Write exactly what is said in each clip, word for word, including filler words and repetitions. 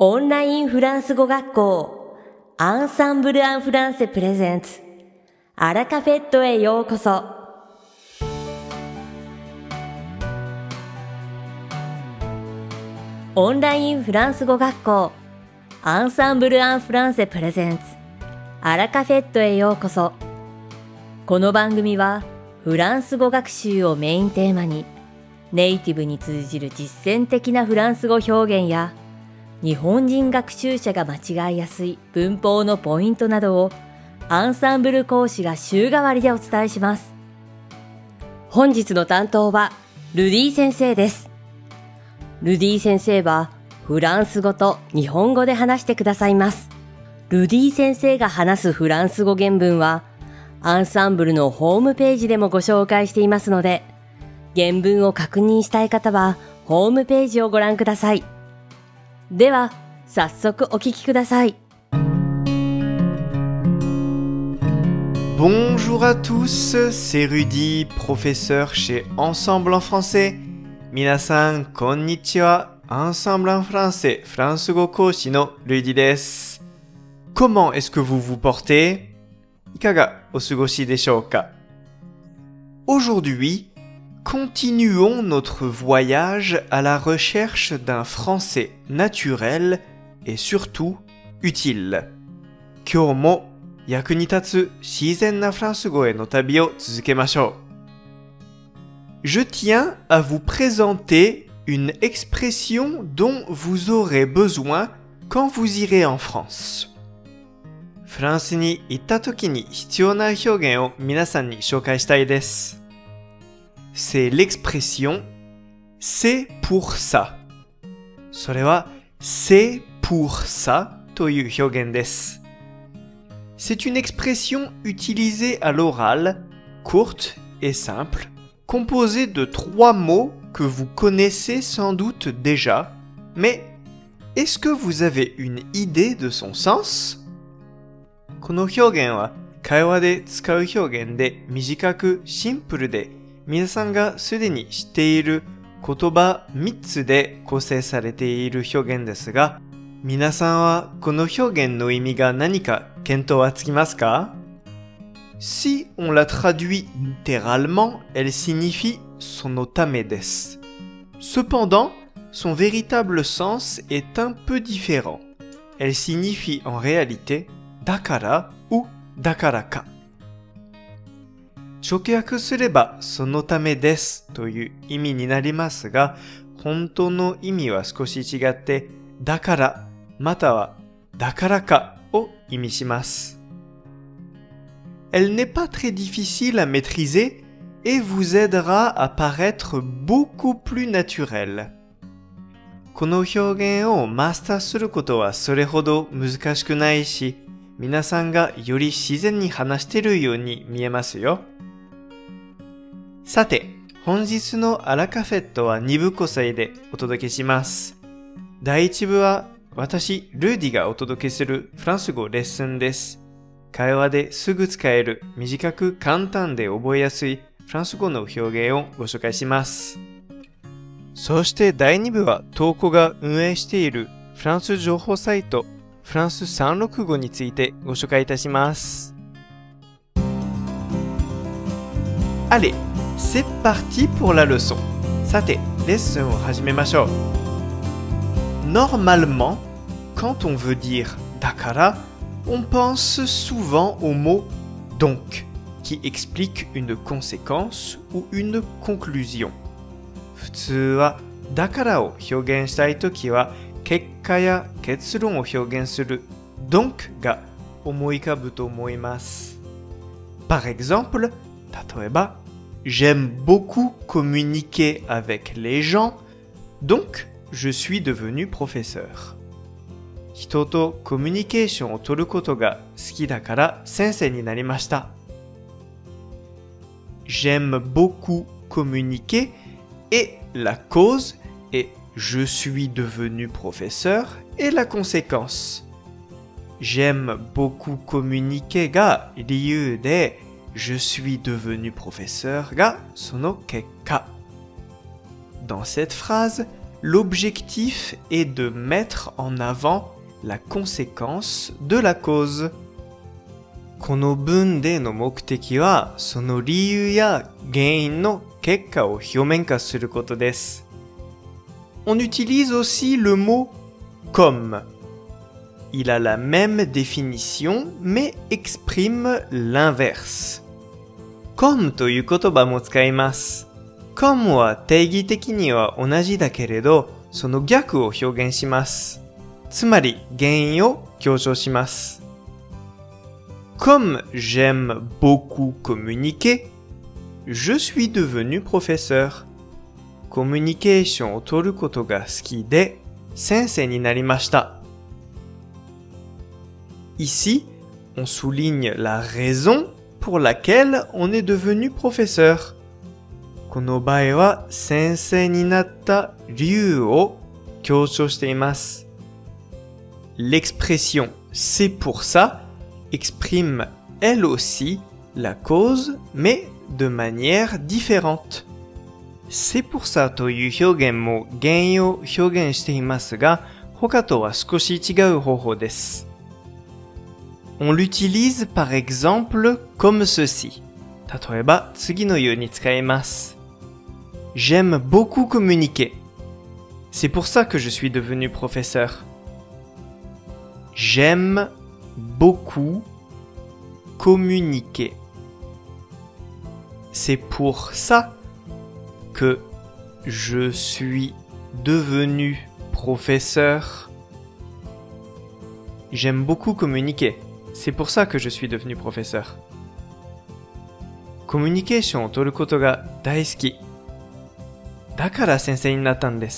オンラインフランス語学校アンサンブル・アン・フランセプレゼンツアラカフェットへようこそ。オンラインフランス語学校アンサンブル・アン・フランセプレゼンツアラカフェットへようこそ。この番組はフランス語学習をメインテーマにネイティブに通じる実践的なフランス語表現や日本人学習者が間違いやすい文法のポイントなどをアンサンブル講師が週替わりでお伝えします。本日の担当はルディ先生です。ルディ先生はフランス語と日本語で話してくださいます。ルディ先生が話すフランス語原文はアンサンブルのホームページでもご紹介していますので、原文を確認したい方はホームページをご覧ください。では早速お聞きください。 Bonjour à tous, c'est Rudy, professeur chez Ensemble en français. Minasan, konnichiwa, Ensemble en français, フランス語講師の Rudy です。Comment est-ce que vous vous portez? いかがお過ごしでしょうか? Aujourd'hui, continuons notre voyage à la recherche d'un français naturel et surtout utile. 今日も役に立つ自然なフランス語への旅を続けましょう。Je tiens à vous présenter une expression dont vous aurez besoin quand vous irez en France. フランスに行った時に必要な表現を皆さんに紹介したいです。C'est l'expression « c'est pour ça ». それは« c'est pour ça » という表現です。C'est une expression utilisée à l'oral, courte et simple, composée de trois mots que vous connaissez sans doute déjà, mais est-ce que vous avez une idée de son sens? この表現は会話で使う表現で短くシンプルで皆さんがすでに知っている言葉みっつで構成されている表現ですが、皆さんはこの表現の意味が何か見当はつきますか? Si on la traduit littéralement, elle signifie sonotame desu. Cependant, son véritable sens est un peu différent. Elle signifie en réalité dakara ou dakaraka. 直訳すればそのためですという意味になりますが、本当の意味は少し違って、だからまたはだからかを意味します。Elle n'est pas très difficile à maîtriser et vous aidera à paraître beaucoup plus naturel. この表現をマスターすることはそれほど難しくないし、皆さんがより自然に話しているように見えますよ。さて、本日のアラカフェットはに部構成でお届けします。第一部は私、ルーディがお届けするフランス語レッスンです。会話ですぐ使える短く簡単で覚えやすいフランス語の表現をご紹介します。そしてだいに部はトーコが運営しているフランス情報サイトフランスさんろくごについてご紹介いたします。Allez, c'est parti pour la leçon. さて、レッスンを始めましょう。Normalement, quand on veut dire dakara, on pense souvent au mot donc, qui explique une conséquence ou une conclusion. 普通はdakaraを表現したいときは、結果や結論を表現する donc が思い浮かぶと思います。Par exemple, 例えば、J'aime beaucoup communiquer avec les gens, donc je suis devenu professeur. 人とコミュニケーションを取ることが好きだから先生になりました。J'aime beaucoup communiquer et la cause est je suis devenu professeur et la conséquence. J'aime beaucoup communiquer が理由でJe suis devenu professeur がその結果。Dans cette phrase, l'objectif est de mettre en avant la conséquence de la cause. この文での目的は、その理由や原因の結果を表面化することです。On utilise aussi le mot comme. Il a la même définition, mais exprime l'inverse. comme という言葉も使います。comme は定義的には同じだけれど、その逆を表現します。つまり原因を強調します。Comme j'aime beaucoup communiquer, je suis devenu professeur. コミュニケーションを取ることが好きで先生になりました。Ici, on souligne la raison pour laquelle on est devenu professeur. この場合は先生になった理由を強調しています。L'expression « c'est pour ça » exprime elle aussi la cause, mais de manière différente. C'est pour ça という表現も原因を表現していますが、他とは少し違う方法です。On l'utilise par exemple comme ceci. 例えば次のように使います。J'aime beaucoup communiquer. C'est pour ça que je suis devenu professeur. J'aime beaucoup communiquer. C'est pour ça que je suis devenu professeur. J'aime beaucoup communiquer. C'est pour ça que je suis devenu professeur. コミュニケーションを取ることが大好き。だから先生になったんです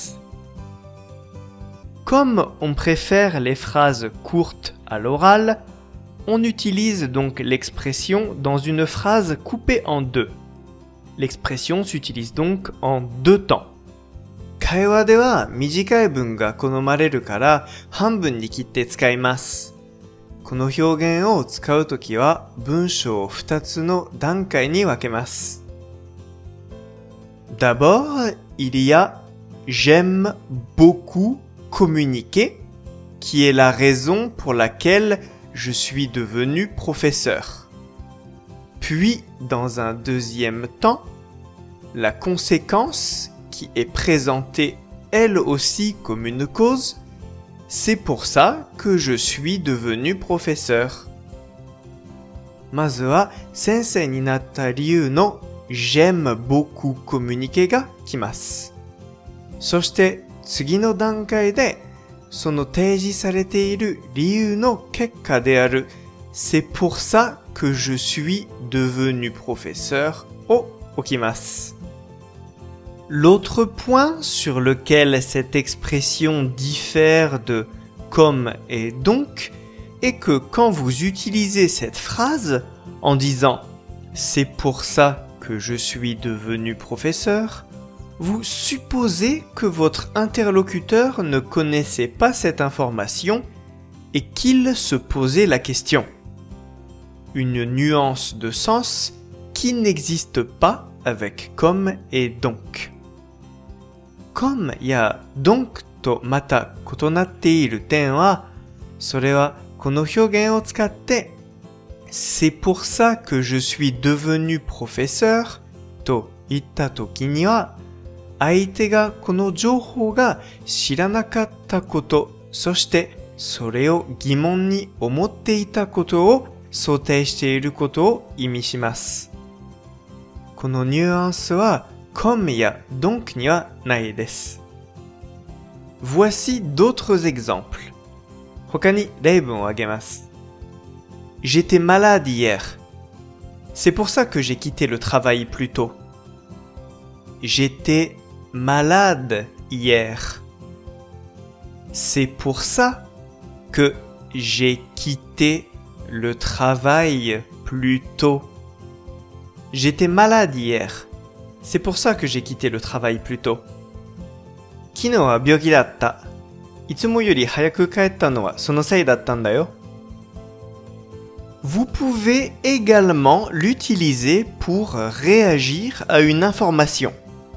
。Comme on préfère les phrases courtes à l'oral, on utilise donc l'expression dans une phrase coupée en deux. L'expression s'utilise donc en deux temps. 会話では短い文が好まれるから半分に切って使います。この表現を使うときは文章をふたつの段階に分けます。D'abord, il y a j'aime beaucoup communiquer, qui est la raison pour laquelle je suis devenu professeur. Puis, dans un deuxième temps, la conséquence qui est présentée elle aussi comme une cause, c'est pour ça que je suis devenu professeur. まずは先生になった理由の j'aime beaucoup communiquer が来ます。そして次の段階でその提示されている理由の結果である c'est pour ça que je suis devenu professeur を置きます。L'autre point sur lequel cette expression diffère de comme et donc est que quand vous utilisez cette phrase en disant c'est pour ça que je suis devenu professeur, vous supposez que votre interlocuteur ne connaissait pas cette information et qu'il se posait la question. Une nuance de sens qui n'existe pas avec comme et donc. Comme や donc とまた異なっている点は、それはこの表現を使って、c'est pour ça que je suis devenu professeur と言ったときには、相手がこの情報が知らなかったこと、そしてそれを疑問に思っていたことを想定していることを意味します。このニュアンスはcomme や donc にはないです。Voici d'autres exemples. 他に例文を挙げます。J'étais malade hier. C'est pour ça que j'ai quitté le travail plus tôt. J'étais malade hier. C'est pour ça que j'ai quitté le travail plus tôt. J'étais malade hier. C'est pour ça que j'ai quitté le travail plus tôt. 昨日は病気だった。いつもより早く帰ったのはそのせいだったんだよ。Vous pouvez également l'utiliser pour réagir à une information.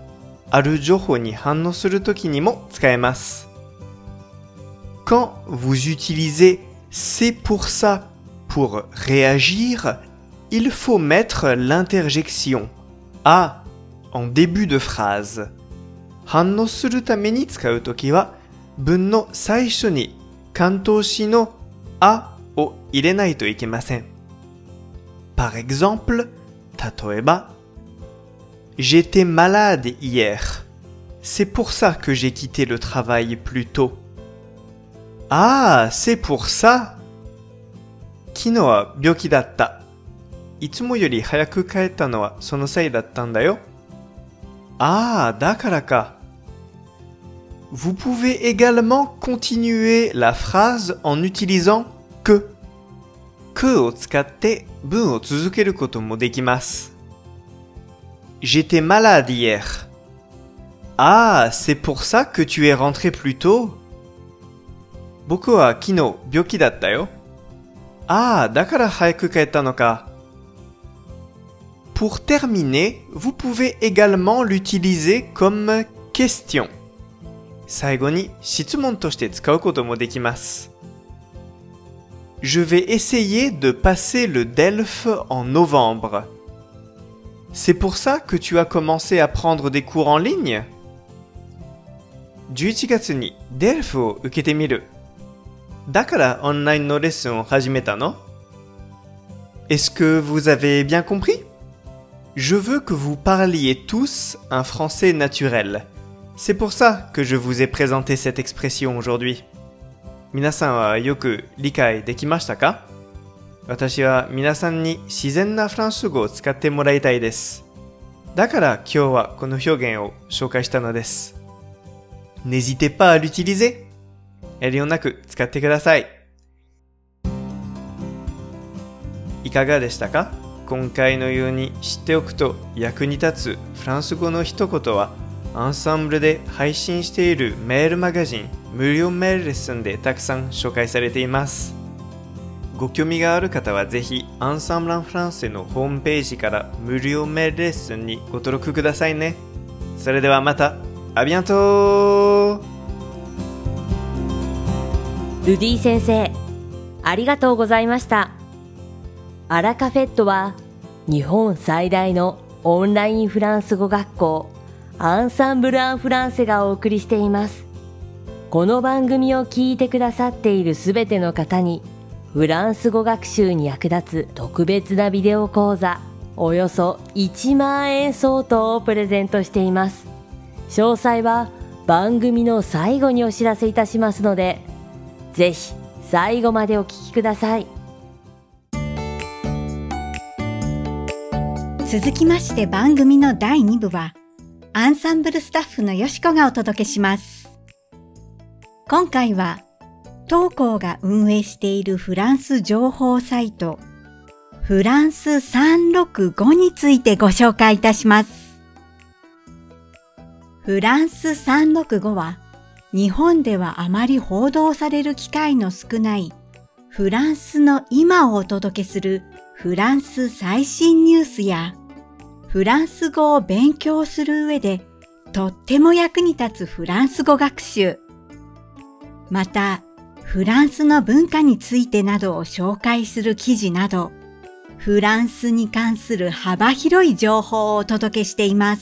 ある情報に反応するときにも使えます。Quand vous utilisez c'est pour ça pour réagir, il faut mettre l'interjection a en début de phrase. 反応するために使うときは、文の最初に関東詞のあを入れないといけません。Par exemple, 例えば、J'étais malade hier. C'est pour ça que j'ai quitté le travail plus tôt. Ah, c'est pour ça. 昨日は病気だった。いつもより早く帰ったのはそのせいだったんだよ。ああ、だからか。Vous pouvez également continuer la phrase en utilisant que. que を使って文を続けることもできます。J'étais malade hier. Ah, c'est pour ça que tu es rentré plus tôt. 僕は昨日病気だったよ。ああ、だから早く帰ったのか。Pour terminer, vous pouvez également l'utiliser comme question. 最後に質問として使うこともできます。Je vais essayer de passer le D E L F en novembre. C'est pour ça que tu as commencé à prendre des cours en ligne? じゅういちがつに D E L F を受けてみる。だからオンラインのレッスンを始めたの? Est-ce que vous avez bien compris? Je veux que vous parliez tous un français naturel. C'est pour ça que je vous ai présenté cette expression aujourd'hui. 皆さんはよく理解できましたか？私は皆さんに自然なフランス語を使ってもらいたいです。だから今日はこの表現を紹介したのです。N'hésitez pas à l'utiliser. 遠慮なく使ってください。いかがでしたか？今回のように知っておくと役に立つフランス語の一言はアンサンブルで配信しているメールマガジン無料メールレッスンでたくさん紹介されています。ご興味がある方はぜひアンサンブランフランセのホームページから無料メールレッスンにご登録くださいね。それではまた。あビアントルディ先生、ありがとうございました。アラカフェットは日本最大のオンラインフランス語学校アンサンブル・アン・フランセがお送りしています。この番組を聞いてくださっているすべての方にフランス語学習に役立つ特別なビデオ講座およそいちまんえん相当をプレゼントしています。詳細は番組の最後にお知らせいたしますので、ぜひ最後までお聞きください。 続きまして番組のだいに部はアンサンブルスタッフのよしこがお届けします。今回は当校が運営しているフランス情報サイトフランスさんろくごについてご紹介いたします。フランスさんろくごは日本ではあまり報道される機会の少ないフランスの今をお届けするフランス最新ニュースやフランス語を勉強する上でとっても役に立つフランス語学習、またフランスの文化についてなどを紹介する記事など、フランスに関する幅広い情報をお届けしています。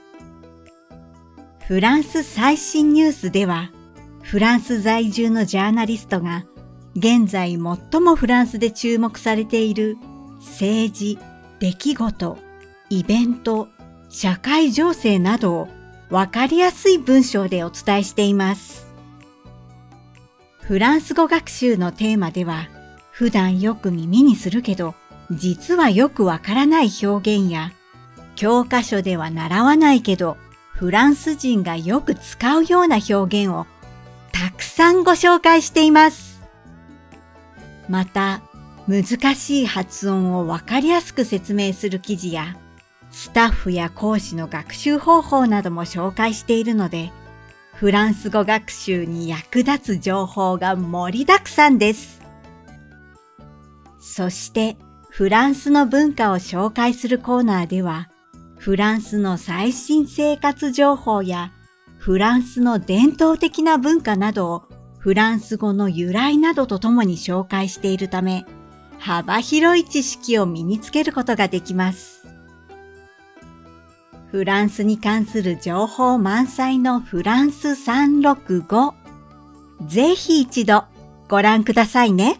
フランス最新ニュースでは、フランス在住のジャーナリストが現在最もフランスで注目されている政治、出来事、イベント、社会情勢などをわかりやすい文章でお伝えしています。フランス語学習のテーマでは、普段よく耳にするけど、実はよくわからない表現や、教科書では習わないけど、フランス人がよく使うような表現をたくさんご紹介しています。また、難しい発音をわかりやすく説明する記事や、スタッフや講師の学習方法なども紹介しているので、フランス語学習に役立つ情報が盛りだくさんです。そして、フランスの文化を紹介するコーナーでは、 フランスの最新生活情報やフランスの伝統的な文化などをフランス語の由来などとともに紹介しているため、幅広い知識を身につけることができます。フランスに関する情報満載のフランスさんろくご、ぜひ一度ご覧くださいね。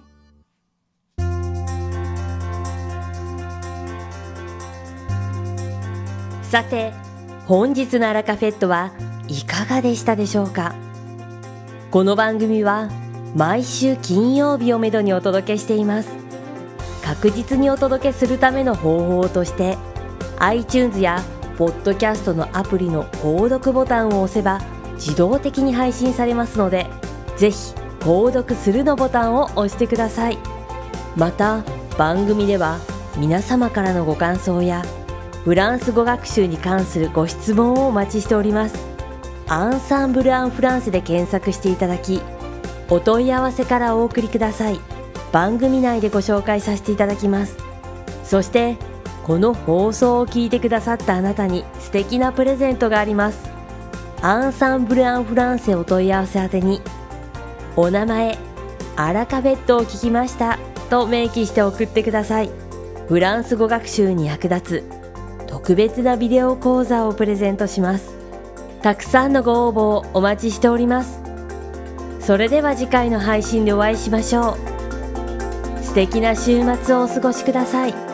さて、本日のアラカフェットはいかがでしたでしょうか。この番組は毎週金曜日をめどにお届けしています。確実にお届けするための方法として iTunes やポッドキャストのアプリの購読ボタンを押せば自動的に配信されますので、ぜひ購読するのボタンを押してください。また番組では皆様からのご感想やフランス語学習に関するご質問をお待ちしております。アンサンブル・アン・フランセで検索していただき、お問い合わせからお送りください。番組内でご紹介させていただきます。そしてこの放送を聞いてくださったあなたに素敵なプレゼントがあります。アンサンブル・アン・フランセお問い合わせ宛てに、お名前、アラカフェットを聞きましたと明記して送ってください。フランス語学習に役立つ特別なビデオ講座をプレゼントします。たくさんのご応募をお待ちしております。それでは次回の配信でお会いしましょう。素敵な週末をお過ごしください。